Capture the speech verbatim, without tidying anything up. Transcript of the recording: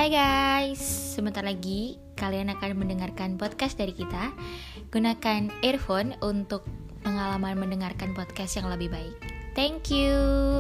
Hai guys, sebentar lagi kalian akan mendengarkan podcast dari kita. Gunakan earphone untuk pengalaman mendengarkan podcast yang lebih baik. Thank you.